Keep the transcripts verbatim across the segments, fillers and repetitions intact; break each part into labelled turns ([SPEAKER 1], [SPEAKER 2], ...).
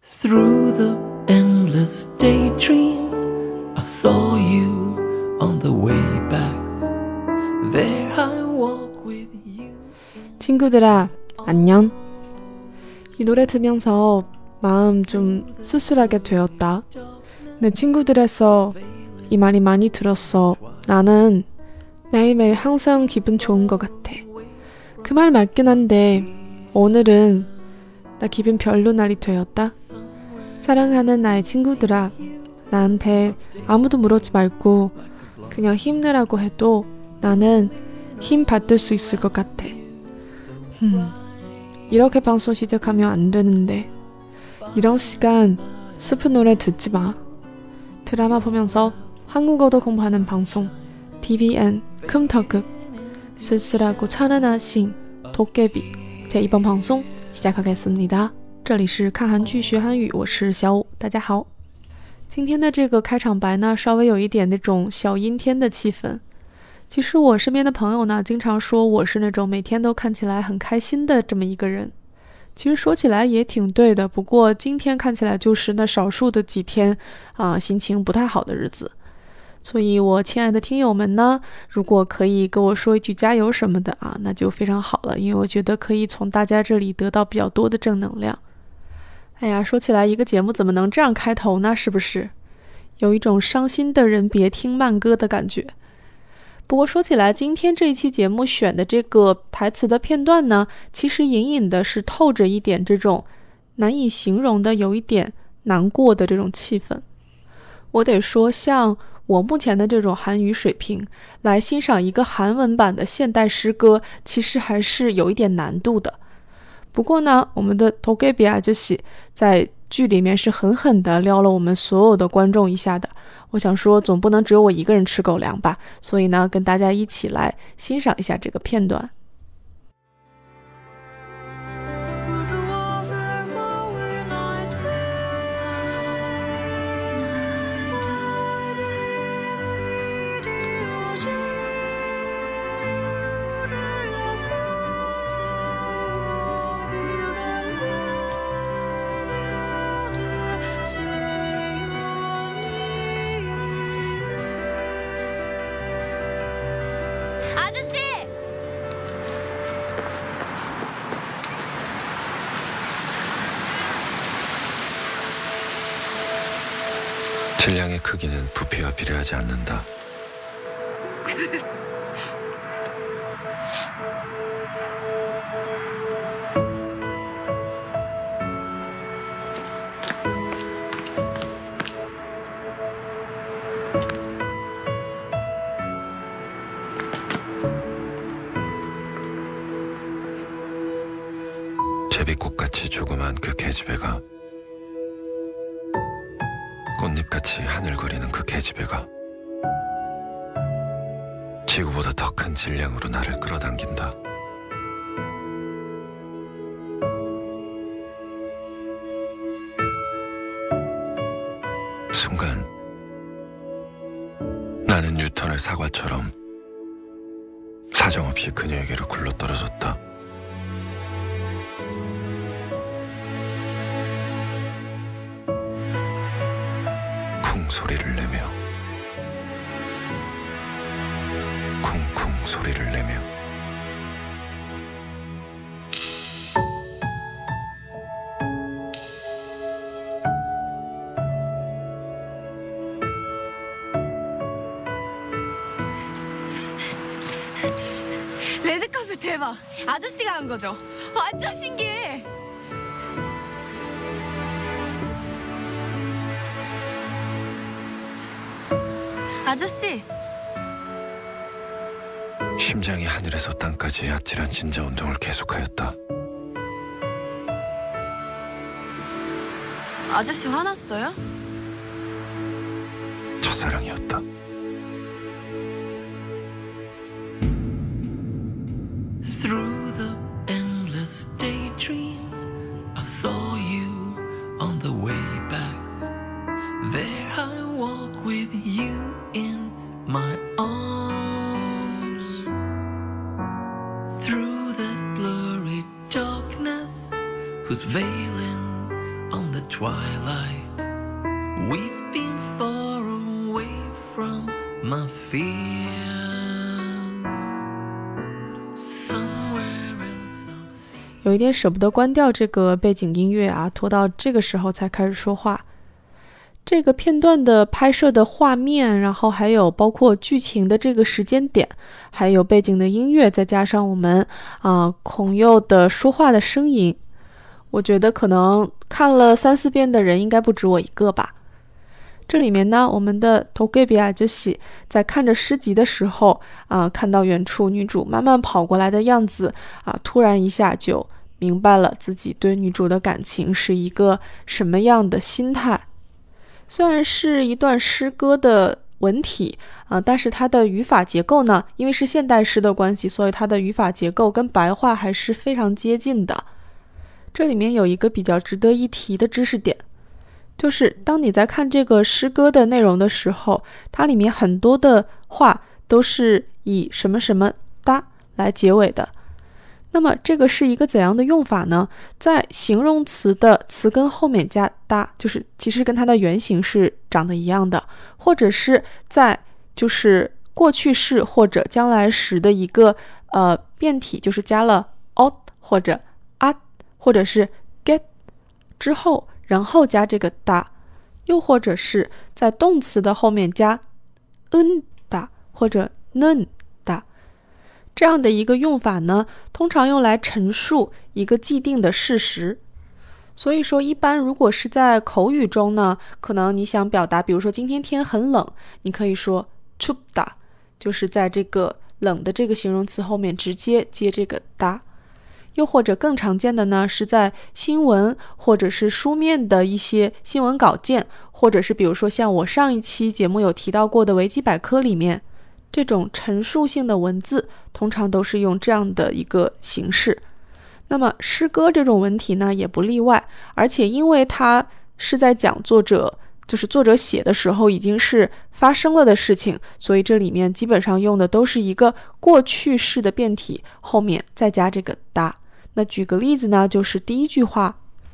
[SPEAKER 1] Through the endless daydream, I saw you on the way back. There I walk with you.
[SPEAKER 2] 친구들아, 안녕. 이 노래 들으면서 마음 좀 쓸쓸하게 되었다. 내 친구들에서 이 말이 많이 들었어. 나는 매일매일 항상 기분 좋은 것 같아. 그 말 맞긴 한데 오늘은 나 기분 별로 날이 되었다. 사랑하는 나의 친구들아, 나한테 아무도 물어지 말고 그냥 힘내라고 해도 나는 힘 받을 수 있을 것 같아. 음, 이렇게 방송 시작하면 안 되는데 이런 시간 슬픈 노래 듣지 마. 드라마 보면서 한국어도 공부하는 방송 티비엔 컴터급 쓸쓸하고 찬란하신 도깨비 제이번 방송 시작하겠습니다。这里是看韩剧学韩语，我是小五，大家好。今天的这个开场白呢，稍微有一点那种小阴天的气氛。其实我身边的朋友呢，经常说我是那种每天都看起来很开心的这么一个人。其实说起来也挺对的，不过今天看起来就是那少数的几天啊，心情不太好的日子。所以我亲爱的听友们呢，如果可以跟我说一句加油什么的啊，那就非常好了，因为我觉得可以从大家这里得到比较多的正能量。哎呀，说起来一个节目怎么能这样开头呢？是不是有一种伤心的人别听慢歌的感觉？不过说起来，今天这一期节目选的这个台词的片段呢，其实隐隐的是透着一点这种难以形容的有一点难过的这种气氛。我得说，像我目前的这种韩语水平来欣赏一个韩文版的现代诗歌，其实还是有一点难度的。不过呢，我们的도깨비 아저씨在剧里面是狠狠地撩了我们所有的观众一下的。我想说，总不能只有我一个人吃狗粮吧，所以呢，跟大家一起来欣赏一下这个片段。
[SPEAKER 3] 질량의 크기는 부피와 비례하지 않는다. 제비꽃같이 조그만 그 계집애가, 꽃잎같이 하늘거리는 그 계집애가 지구보다 더 큰 질량으로 나를 끌어당긴다. 순간 나는 뉴턴의 사과처럼 사정없이 그녀에게로 굴러떨어졌다. 소리를 내며 쿵쿵 소리를 내며
[SPEAKER 4] 레드카펫 대박! 아저씨가 한 거죠? 완전 신기해! 아저씨!
[SPEAKER 3] 심장이 하늘에서 땅까지 아찔한 진자 운동을 계속하였다.
[SPEAKER 4] 아저씨 화났어요?
[SPEAKER 3] 첫사랑이었다.
[SPEAKER 1] Through the endless daydream, I saw you on the way back. There I walk with you in my arms. Through the blurry darkness who's veiling on the twilight. We've been far away from my fears. Somewhere else I'll see.
[SPEAKER 2] 有一点舍不得关掉这个背景音乐啊，拖到这个时候才开始说话。这个片段的拍摄的画面，然后还有包括剧情的这个时间点，还有背景的音乐，再加上我们啊、呃、孔佑的说话的声音，我觉得可能看了三四遍的人应该不止我一个吧。这里面呢，我们的도깨비 아저씨在看着诗集的时候啊、呃，看到远处女主慢慢跑过来的样子啊，突然一下就明白了自己对女主的感情是一个什么样的心态。虽然是一段诗歌的文体啊、呃，但是它的语法结构呢，因为是现代诗的关系，所以它的语法结构跟白话还是非常接近的。这里面有一个比较值得一提的知识点，就是当你在看这个诗歌的内容的时候，它里面很多的话都是以什么什么哒来结尾的。那么这个是一个怎样的用法呢？在形容词的词根后面加哒，就是其实跟它的原型是长得一样的，或者是在就是过去式或者将来时的一个呃变体，就是加了 ot 或者 at 或者是 get 之后，然后加这个哒，又或者是在动词的后面加 n 哒或者 는哒。这样的一个用法呢，通常用来陈述一个既定的事实。所以说一般如果是在口语中呢，可能你想表达比如说今天天很冷，你可以说춥다，就是在这个冷的这个形容词后面直接接这个哒。又或者更常见的呢，是在新闻或者是书面的一些新闻稿件，或者是比如说像我上一期节目有提到过的维基百科里面，这种陈述性的文字通常都是用这样的一个形式。那么诗歌这种文体呢也不例外，而且因为它是在讲作者就是作者写的时候已经是发生了的事情，所以这里面基本上用的都是一个过去式的变体，后面再加这个哒。那举个例子呢，就是第一句话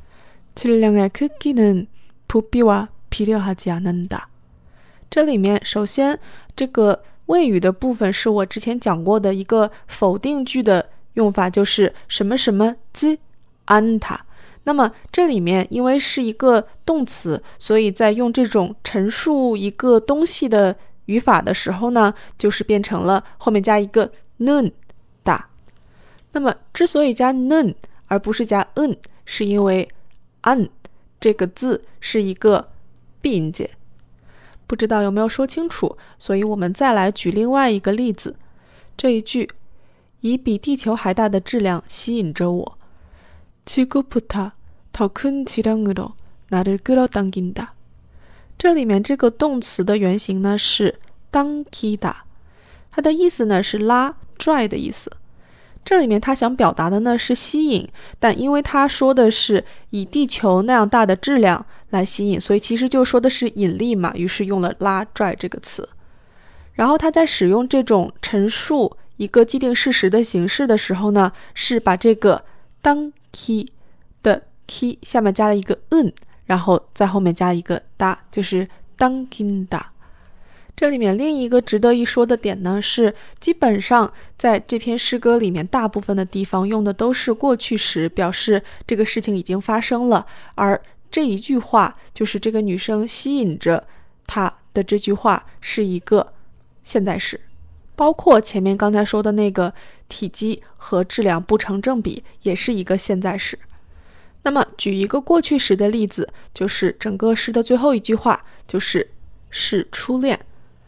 [SPEAKER 2] 질량의 크기는 부피와 비례하지 않는다。这里面首先这个谓语的部分是我之前讲过的一个否定句的用法，就是什么什么지 않다。那么这里面因为是一个动词，所以在用这种陈述一个东西的语法的时候呢，就是变成了后面加一个는 다。那么之所以加는而不是加은，是因为안这个字是一个闭音节。不知道有没有说清楚，所以我们再来举另外一个例子。这一句以比地球还大的质量吸引着我，지구보다 더 큰 질량으로 나를 끌어당긴다。这里面这个动词的原型呢是당기다，它的意思呢是拉拽的意思。这里面他想表达的呢是吸引，但因为他说的是以地球那样大的质量来吸引，所以其实就说的是引力嘛，于是用了拉拽这个词。然后他在使用这种陈述一个既定事实的形式的时候呢，是把这个当기的 기下面加了一个은，然后在后面加一个다，就是당긴다。这里面另一个值得一说的点呢，是基本上在这篇诗歌里面大部分的地方用的都是过去时，表示这个事情已经发生了，而这一句话就是这个女生吸引着他的这句话是一个现在时，包括前面刚才说的那个体积和质量不成正比也是一个现在时。那么举一个过去时的例子，就是整个诗的最后一句话，就是是初恋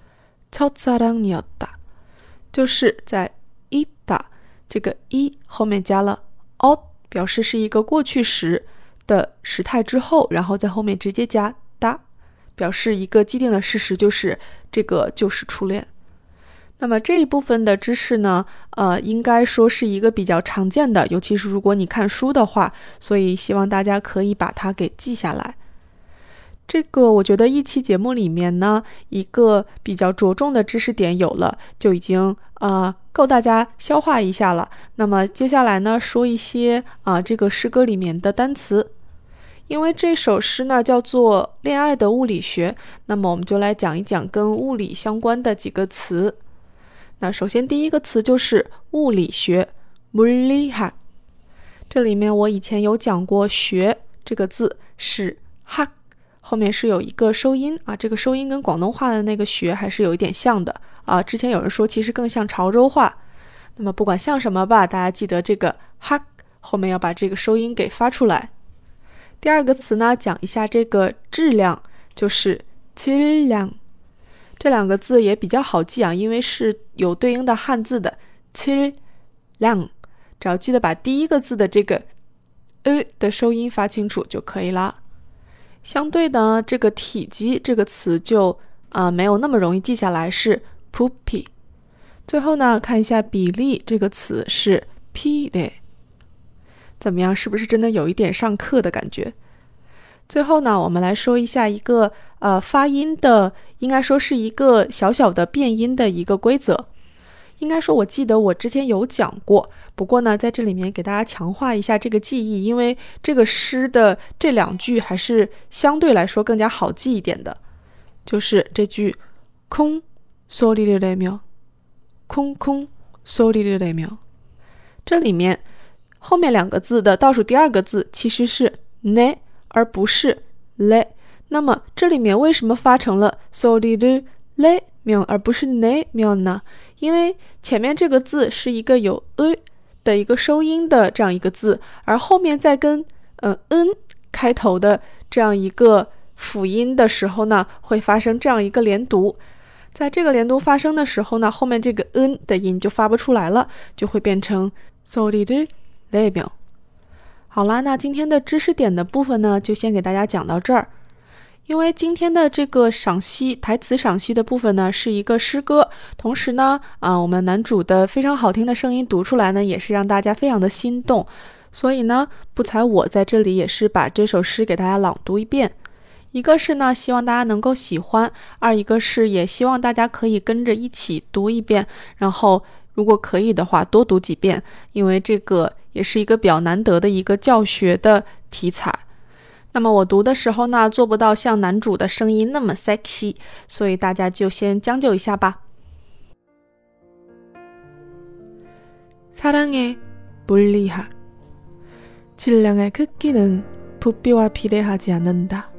[SPEAKER 2] 첫사랑이었다，就是在있다这个一后面加了 ot， 表示是一个过去时的时态之后，然后在后面直接加다，表示一个既定的事实，就是这个就是初恋。那么这一部分的知识呢，呃，应该说是一个比较常见的，尤其是如果你看书的话，所以希望大家可以把它给记下来。这个我觉得一期节目里面呢，一个比较着重的知识点有了，就已经呃够大家消化一下了。那么接下来呢，说一些啊、呃、这个诗歌里面的单词。 因为这首诗呢叫做《恋爱的物理学》，那么我们就来讲一讲跟物理相关的几个词。那首先第一个词就是物理学 물리학， 这里面我以前有讲过学这个字是 학， 后面是有一个收音啊，这个收音跟广东话的那个学还是有一点像的啊。之前有人说其实更像潮州话，那么不管像什么吧，大家记得这个 학后面要把这个收音给发出来。第二个词呢，讲一下这个质量，就是质量。这两个字也比较好记啊，因为是有对应的汉字的质量，只要记得把第一个字的这个呃的收音发清楚就可以啦。相对的，这个体积这个词就啊、呃、没有那么容易记下来，是 부피。最后呢，看一下比例这个词是 비례。怎么样，是不是真的有一点上课的感觉？最后呢，我们来说一下一个呃发音的，应该说是一个小小的变音的一个规则。应该说我记得我之前有讲过，不过呢在这里面给大家强化一下这个记忆，因为这个诗的这两句还是相对来说更加好记一点的。就是这句콩 소리를 내며 콩콩 소리를 내며，这里面后面两个字的倒数第二个字其实是 ne 而不是 le， 那么这里面为什么发成了 소리를 내며而不是 내며呢？因为前面这个字是一个有 을 的一个收音的这样一个字，而后面再跟呃 n 开头的这样一个辅音的时候呢，会发生这样一个连读。在这个连读发生的时候呢，后面这个 n 的音就发不出来了，就会变成 소리를 내며。好啦，那今天的知识点的部分呢，就先给大家讲到这儿。因为今天的这个赏析台词赏析的部分呢，是一个诗歌，同时呢，啊，我们男主的非常好听的声音读出来呢，也是让大家非常的心动。所以呢，不才我在这里也是把这首诗给大家朗读一遍。一个是呢，希望大家能够喜欢；二一个是也希望大家可以跟着一起读一遍，然后如果可以的话多读几遍，因为这个也是一个比较难得的一个教学的题材。那么我读的时候呢，做不到像男主的声音那么 sexy， 所以大家就先将就一下吧。사랑의 물리학 질량의 크기는 부피와 비례하지 않는다.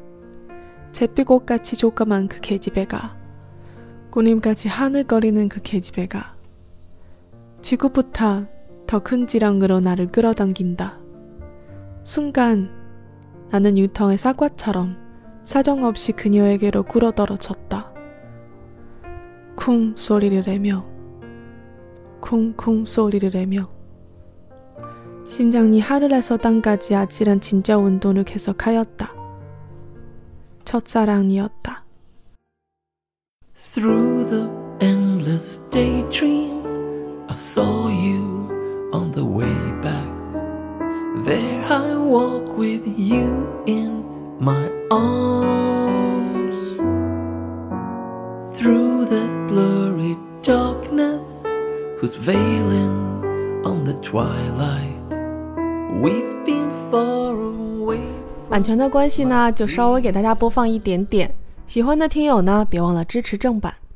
[SPEAKER 2] 잿빛꽃같이 조그만 그 계집애가 꾸님같이 하늘거리는 그 계집애가 지구보다 더 큰 질량으로 나를 끌어당긴다. 순간 나는 유텅의 사과처럼 사정없이 그녀에게로 굴어떨어졌다. 쿵 소리를 내며 쿵쿵 소리를 내며 심장이 하늘에서 땅까지 아찔한 진짜 운동을 계속하였다. 첫사랑이었다.
[SPEAKER 1] Through the endless daydream, I saw you on the way back. There I walk with you in my arms. Through the blurry darkness, who's veiling on the twilight, we've been far away.
[SPEAKER 2] 版权的关系呢，就稍微给大家播放一点点。喜欢的听友呢，别忘了支持正版。